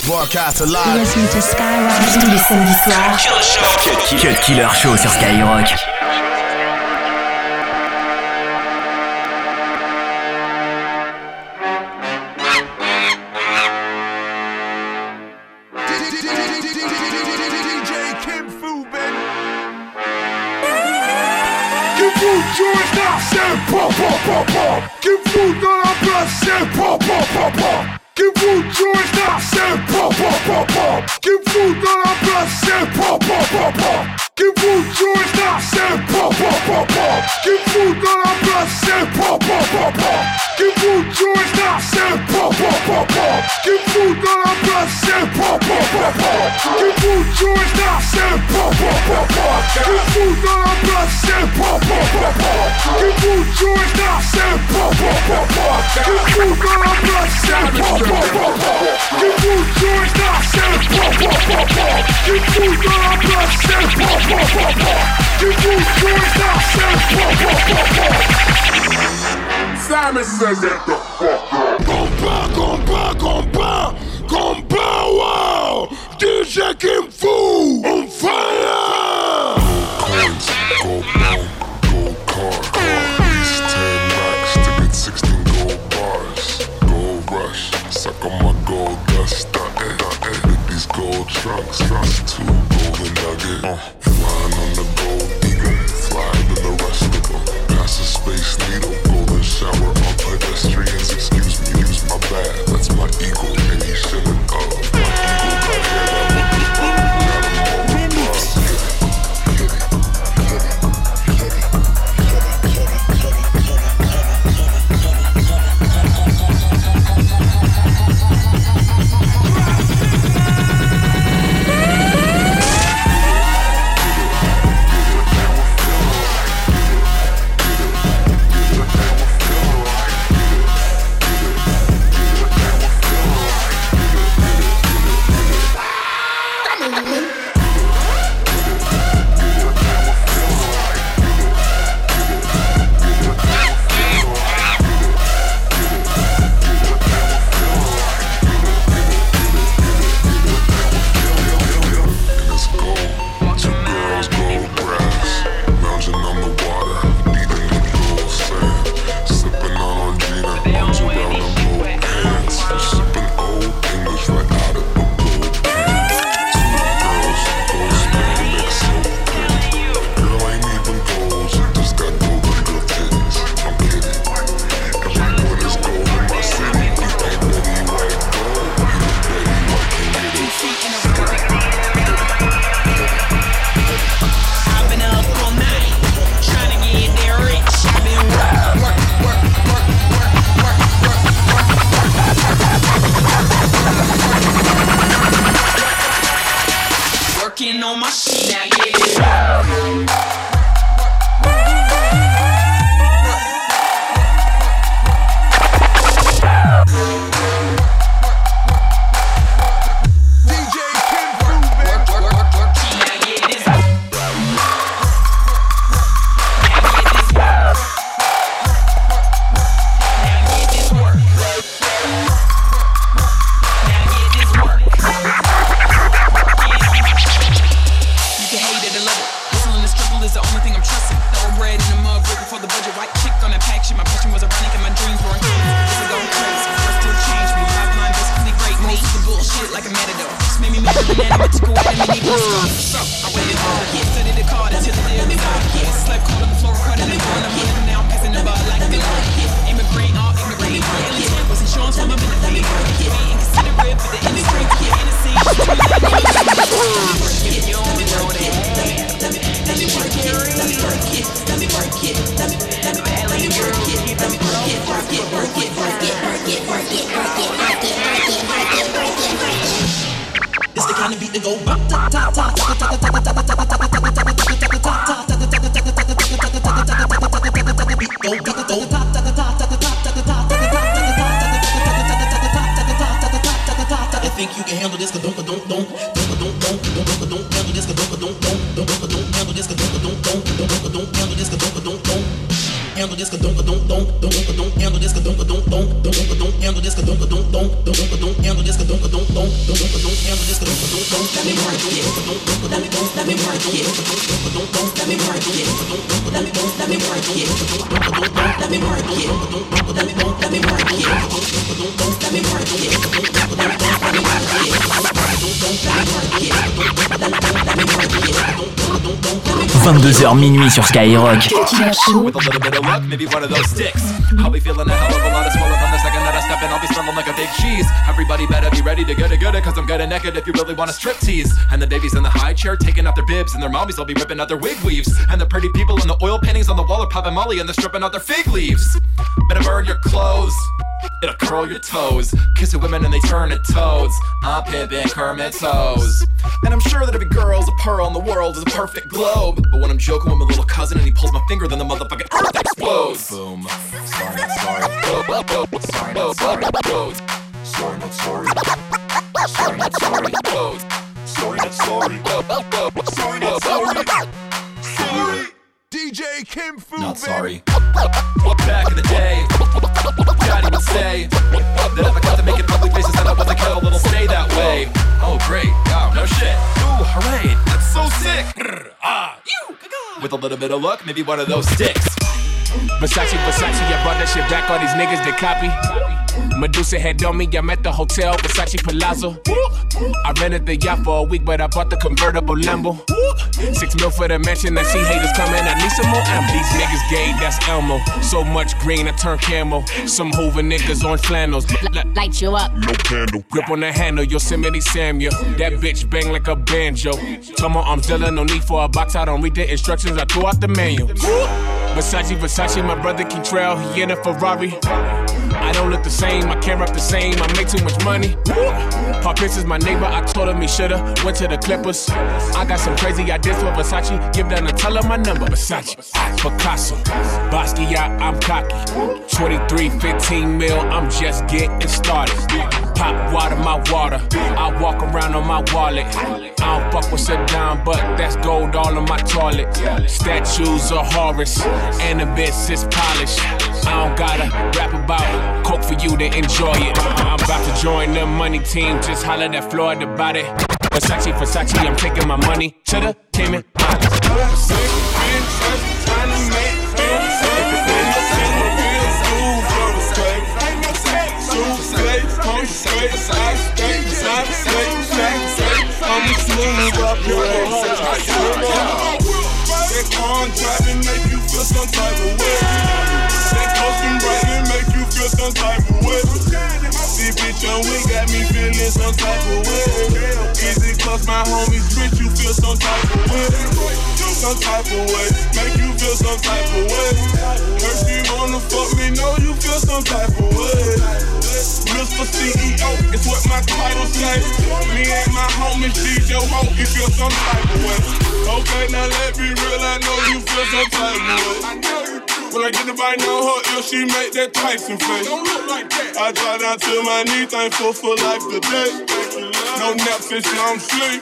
Broadcast live. Listen to Skyrock tous les samedis soirs. Cut Killer Show sur Skyrock. Joins now, c'est pop, pop, pop, pop. Give-vous dans la place, c'est pop, pop, pop, pop. Give-vous joins now, c'est pop, pop, pop, pop. Give-vous dans la place, c'est pop, pop, pop, pop. Give-vous joins now, c'est pop, pop, pop, pop. Give-vous dans la place, c'est pop, pop, pop, pop. Give-vous joins now, c'est pop, pop, pop, pop. Give-vous dans la place, c'est pop, pop, pop, pop. Give-vous joins now, c'est pop, pop, pop, pop. Give-vous dans la place, c'est pop, pop, pop, pop. Give-vous joins now, c'est pop, pop, pop, pop. Give-vous dans la place, c'est pop, pop, pop, pop. Give-vous joins now, c'est pop, pop, pop, pop. Give-vous dans la place, c'est pop, pop, pop, pop. Give-vous joins now, c'est pop, pop, pop, pop. Simon says that the fuck up. Combat, wow! DJ Kim Fu on fire! Coins, gold bone, gold car. These 10 racks to get 16 gold bars. Gold rush, suck on my gold dust. With these gold trunks, two golden nuggets. Flying on the gold eagle, flying in the rest of them. Pass a space needle, golden shower on pedestrians. Excuse me, use my bad, that's my eagle. And he shouldn't my eagle got hair that would be handle this, don't handle this, don't handle this, don't handle this, don't handle this, let me work it, let me work it, let me work it, let me work it, let me work it, let me work it, let me work it, 22h minuit sur Skyrock. With a little bit of luck, maybe one of those sticks. I'll be feeling a hell of a lot of swelling from the second that I step in. I'll be smelling like a big cheese. Everybody better be ready to get it, cause I'm getting naked if you really want a strip tease. And the babies in the high chair taking out their bibs, and their mommies will be ripping out their wig weaves. And the pretty people in the oil paintings on the wall are popping molly, and they're stripping out their fig leaves. Better burn your clothes, it'll curl your toes. Kissing women and they turn to toads. I'm pimping Kermit toes. And I'm sure that every girl's a pearl in the world is a perfect globe. But when I'm joking with my little cousin and he pulls my finger, then the motherfucking earth explodes. Boom. Sorry, not sorry. Sorry, not sorry. Sorry, not sorry. Sorry, not sorry. Sorry, not sorry. Sorry, not sorry. Sorry. DJ Kim Fu. Not sorry. Back in the day, Daddy would say that if I got to make it public faces, then I wasn't careful, it'll stay that way. Oh great, oh no shit. Ooh, hooray, that's so sick. With a little bit of luck, maybe one of those sticks. Versace, I brought that shit back, all these niggas that copy. Medusa had on me, I'm at the hotel, Versace Palazzo. I rented the yacht for a week, but I bought the convertible Lambo. 6 mil for the mansion, I see haters coming, I need some more ammo. These niggas gay, that's Elmo. So much green, I turn camo. Some Hoover niggas on flannels. Light you up. No candle. Grip on the handle, Yosemite Samuel. That bitch bang like a banjo. Told my arms Dilla, no need for a box, I don't read the instructions, I throw out the manual. Versace, my brother Kentrell, he in a Ferrari. I don't look the same, I can't rap the same, I make too much money. Paul Pierce is my neighbor, I told him he shoulda went to the Clippers. I got some crazy ideas for Versace, give them and tell him my number. Versace, Picasso, Basquiat, I'm cocky. 23, 15 mil, I'm just getting started. Pop water, my water, I walk around on my wallet. I don't fuck with Saddam, but that's gold all on my toilet. Statues of Horus, and the bitch is polished. I don't gotta rap about coke for you to enjoy it. I'm about to join the money team, just holler at Floyd about it. Versace, I'm taking my money to the Cayman Islands. That contract and make you feel some type of way. That costume bright and make you feel some type of way. See, bitch, on we got me feeling some type of way. Easy, cause my homies rich, you feel some type of way. Some type of way, make you feel some type of way. First you wanna fuck me, know you feel some type of way. Mr. CEO, it's what my title say. Me and my homies, DJ Ho, you feel some type of way. Okay, now let me real, I know you feel some type of way. When I get the bite on her ear, she make that Tyson face. Don't look like that. I drop down to my knee, thankful for life today. No nap since I'm asleep.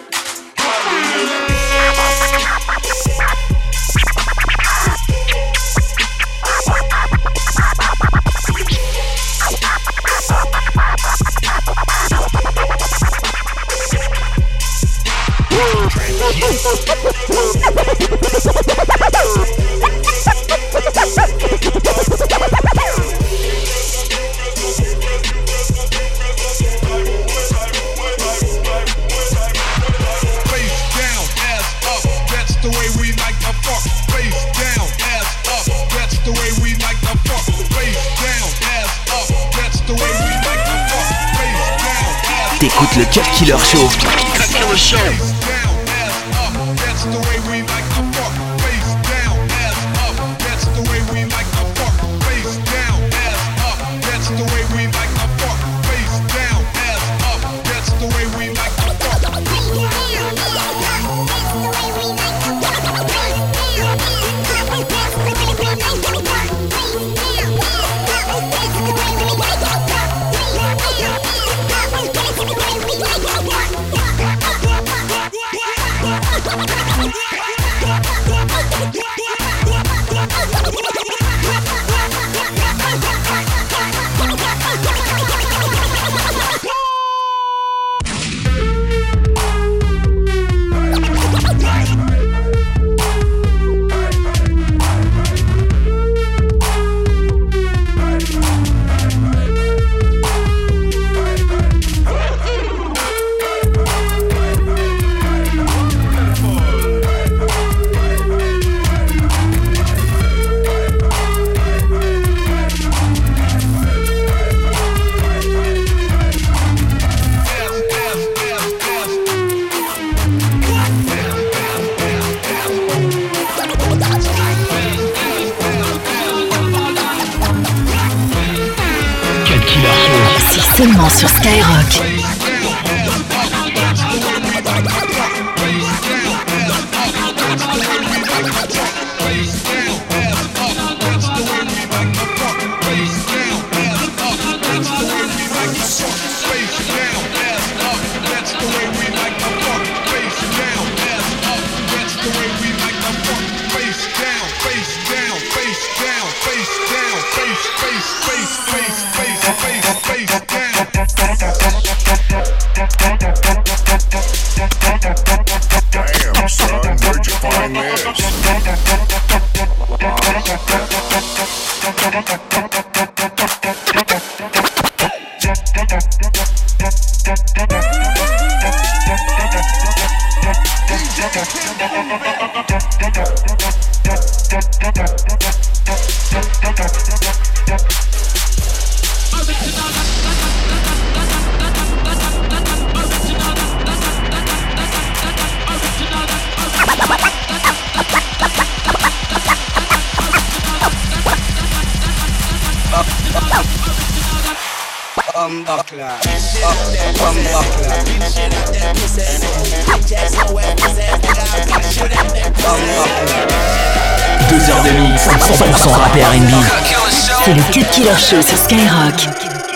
T'écoutes le Cut Killer Show. Cut Killer Show. seulement sur Skyrock. Damn, son, where'd you find this? Deux heures de mix, 100% rap et R&B. C'est le Cut Killer Show sur Skyrock.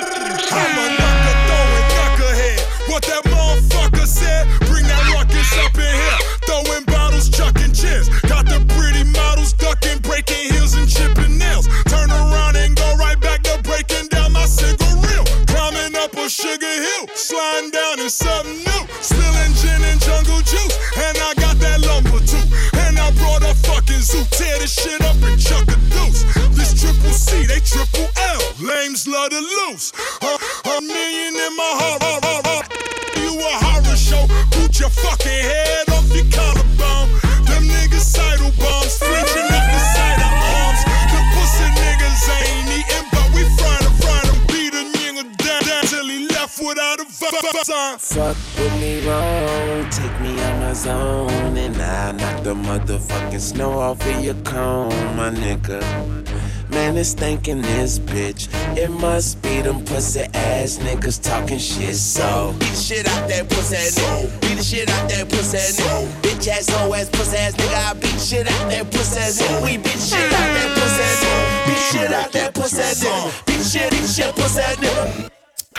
What that motherfucker said, bring that ruckus up in here. Throwing bottles, chucking chairs. Got the pretty models ducking, breaking heels and chipping nails. Turn around and go right back to breaking down my cigarette. Climbing up a sugar hill, sliding down in something new. Spilling gin and jungle juice, and I got that lumber too. And I brought a fucking zoo, tear this shit up and chuck a deuce. This triple C, they triple L, lames love to lose. A million in my heart. You a horror show, boot your fucking head off your collarbone. Them niggas sidle bombs, flinching at the sight of arms. The pussy niggas ain't eating, but we frying them. Beat a nigga down till he left without a sign. Fuck with me wrong, take me out my zone, and I knock the motherfucking snow off of your cone, my nigga. Man, it's thinking this bitch. It must be them pussy ass niggas talking shit. So beat the shit out that pussy ass nigga. Beat the shit out that pussy ass nigga. Bitch ass, hoe ass, pussy ass nigga. I beat the shit out that pussy ass nigga. We beat the shit out that pussy ass nigga. Beat the shit out that pussy ass nigga. Beat the shit, pussy ass nigga.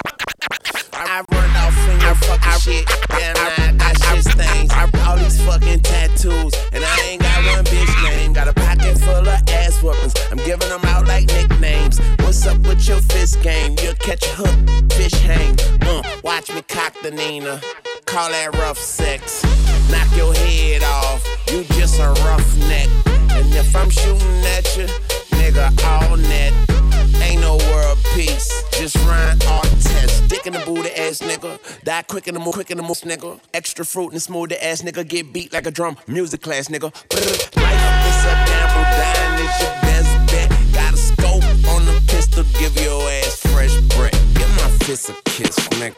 I run off in your fucking shit. Yeah, I got shit stains. All these fucking tattoos, and I ain't got one bitch name. Got a pocket full of ass weapons. I'm giving them out like nicknames. What's up with your fist game? You'll catch a hook, fish hang. Watch me cock the Nina. Call that rough sex. Knock your head off. You just a roughneck. And if I'm shooting at you, nigga, all net. Ain't no world peace. Just run all tests. Dick in the booty ass nigga. Die quick in the move, nigga. Extra fruit and smooth the ass nigga. Get beat like a drum. Music class nigga. Life is a gamble. Dying is your best bet. Got a scope on the pistol. Give your ass fresh breath. Give my fist a kiss, nigga.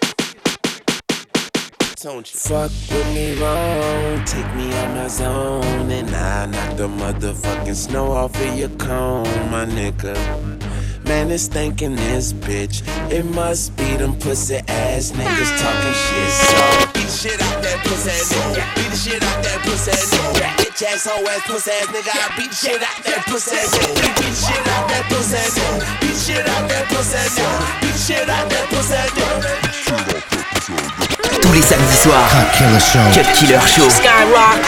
Don't you fuck with me wrong, take me out my zone, and I knock the motherfucking snow off of your cone, my nigga. Man, it's thinking this bitch. It must be them pussy ass niggas talking shit. So beat the shit out that pussy ass nigga. Beat the shit out that pussy ass nigga. Bitch ass, hoe ass, pussy ass nigga. I beat the shit out that pussy ass nigga. Beat the shit out that pussy ass nigga. Beat the shit out that pussy ass nigga. Beat the shit out that pussy ass nigga. Tous les samedis soirs, Cut Killer Show. Skyrock.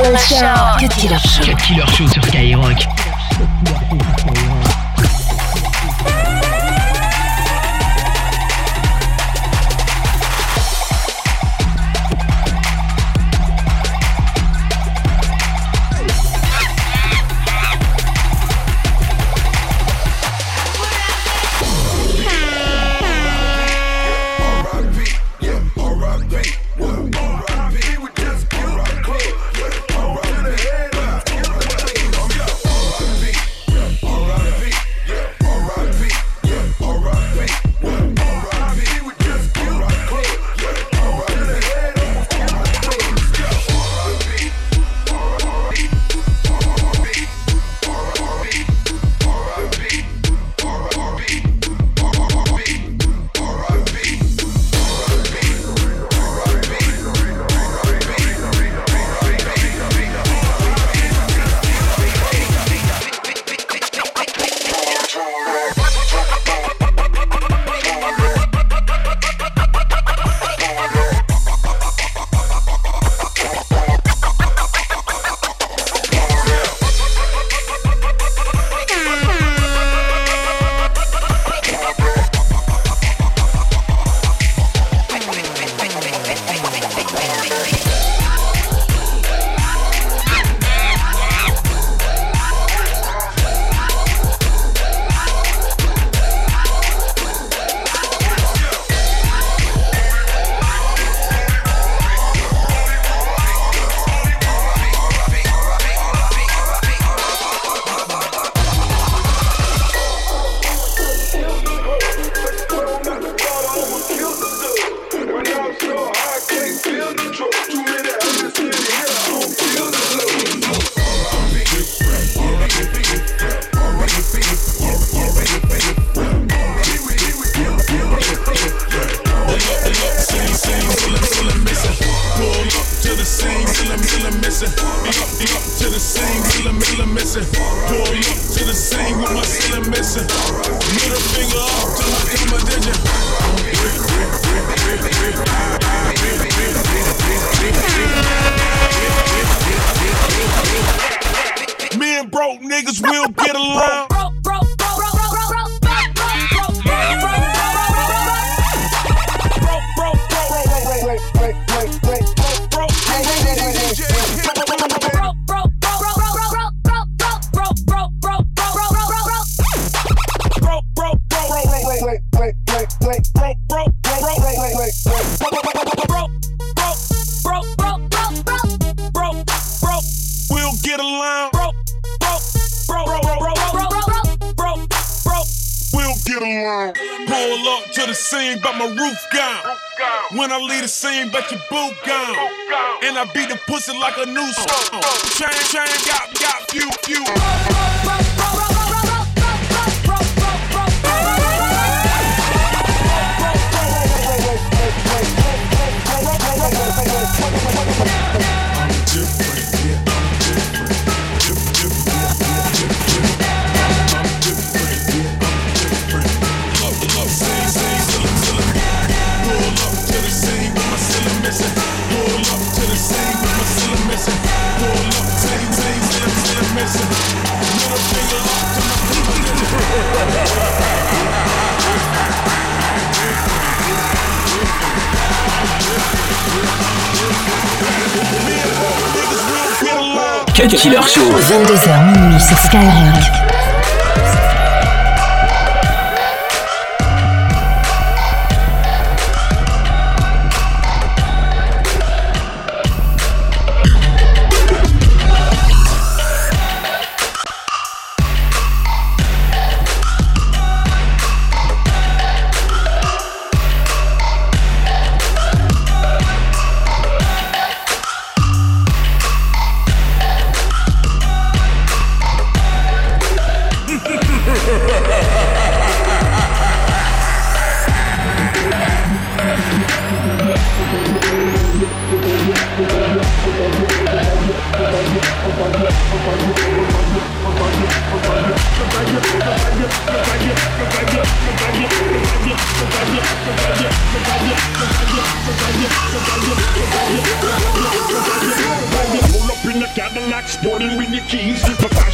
Show. Cut Killer Show. Cut Killer Show sur Skyrock. When I leave the scene, bet your boot gone. And I beat the pussy like a new song. Chain, got few. Cut Killer Show. 22h minuit sur Skyrock.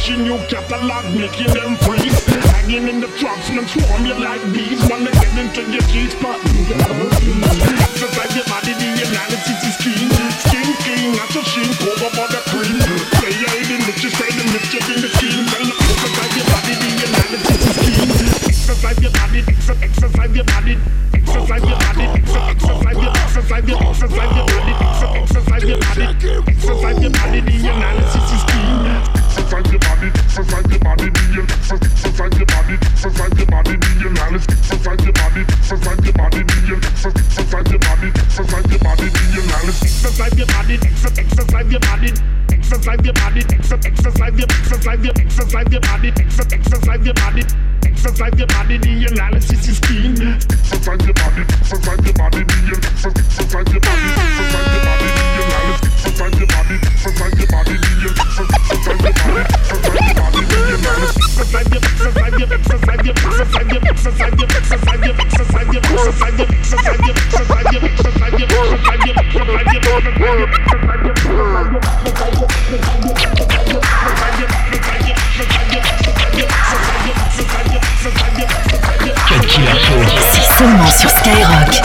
Launch a new catalog, making them freeze. Hanging in the trucks, man, swarm you like bees. Wanna get into your G-spot, exercise your body, the analysis is keen. Skin clean, not so sheen, over by the cream. Play your head in the just say the mischief in the scheme. Exercise your body, the analysis is keen. Exercise your body, exercise your body. Exercise your body, exercise your body, exercise your body, exercise your body, the analysis is keen. Exercise your body, exercise your body, exercise your body, exercise your body, the analysis. Exercise your body, exercise your body, exercise your body, exercise your body, the analysis. Exercise your body, exercise your body. Exercise your body, exercise your body, exercise your body. Exercise your body, the analysis is keen. Exercise your body, exercise your body, exercise your body, exercise your body, the analysis. Exercise your body, exercise your body, exercise your body, exercise your body, the analysis. Exercise your, exercise your, exercise your, exercise your, exercise your, exercise your, exercise your, exercise your, exercise your, exercise your, exercise your, Cut Killer Show. C'est seulement sur Skyrock.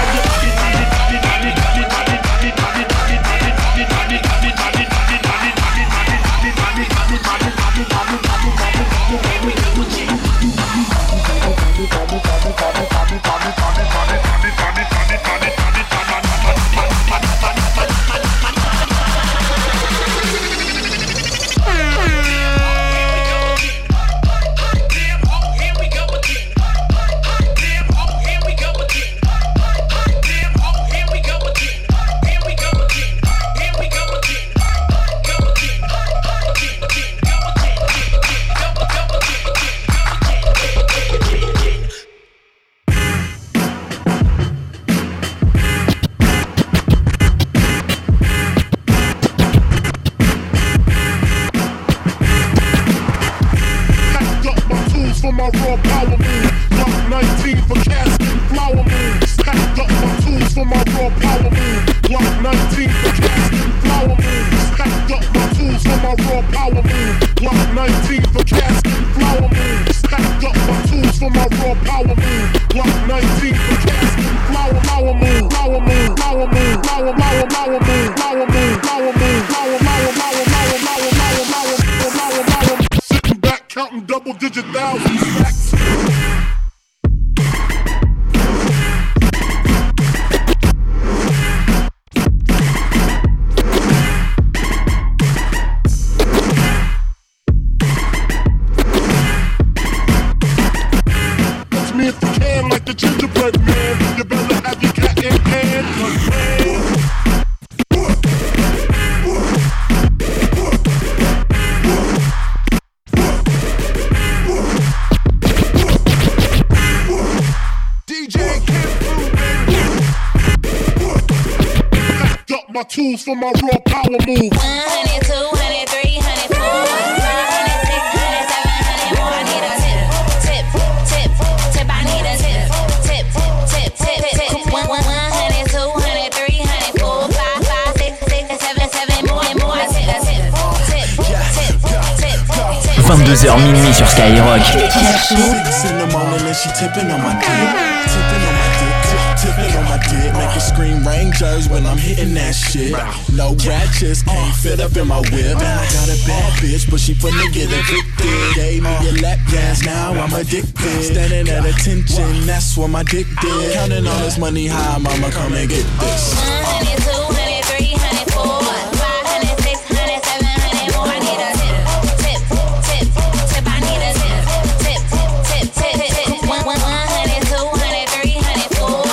Tools for my raw power move. 100, 200, 300, 400, 500, 600, 700 more. I need a tip, tip, tip, tip. I need a tip, tip, tip, tip, tip. 100, 200, 300, 400, 500, 600, 700 more and more. I need a tip, tip, tip, tip. 22h minuit sur Skyrock. Tipping on my dick, make a scream Rangers when I'm hitting that shit. No ratchets, can't fit up in my whip. And I got a bad bitch, but she finna get evicted. Gave me a lap dance, now I'm addicted. Standing at attention, that's what my dick did. Counting all this money high, mama, come and get this. 100, 200, 300, 400, 500, 600, 700 more. I need a tip, tip, tip. I need a tip, tip, tip. 100, 200, 300, 400.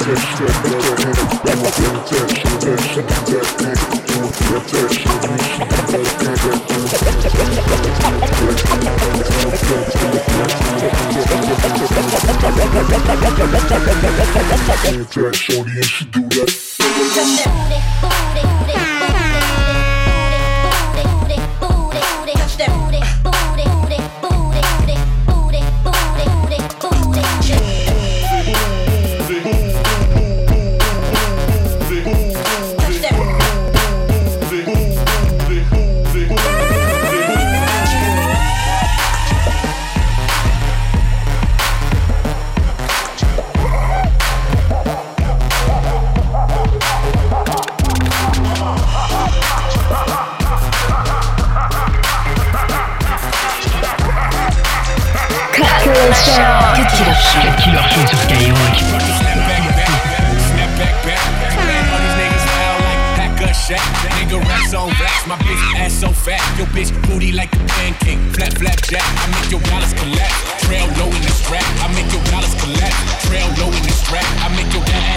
Shorty and she do that. Cut Killer Show sur Skyrock. Nigga racks on racks, my bitch ass so fat. Your bitch booty like a pancake, flat jack. I make your dollars collapse, trail low in the strap. I make your dollars collapse, trail low in the strap. I make your bitch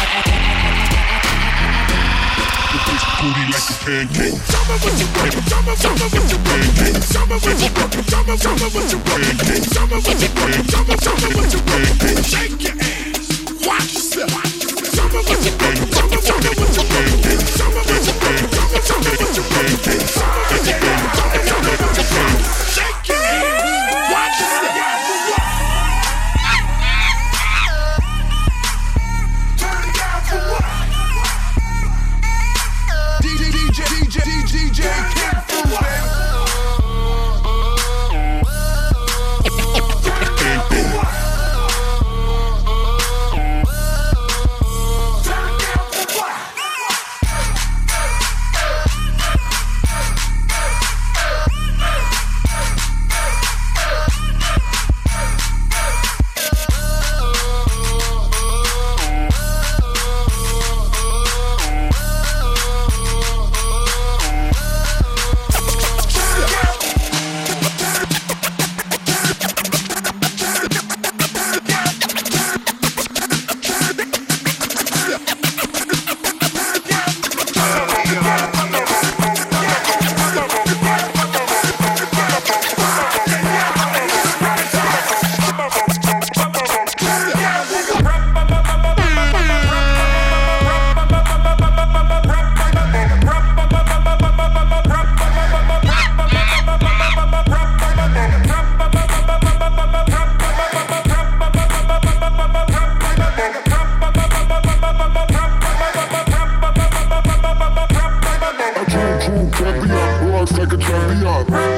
booty like a pancake. Summer with your pancake. Summer with your pancake. Summer with your pancake. Summer with your pancake. Summer with your pancake. Summer with your pancake. Shake your ass. Watch yourself. Summer with your pancake. Summer with your pancake. Summer with your pancake. Summer with your pancake. Summer with your pancake. Summer with your pancake. Shake your ass. Watch yourself. Turn it down for what? DJ Kid Fu, baby. Like a champion.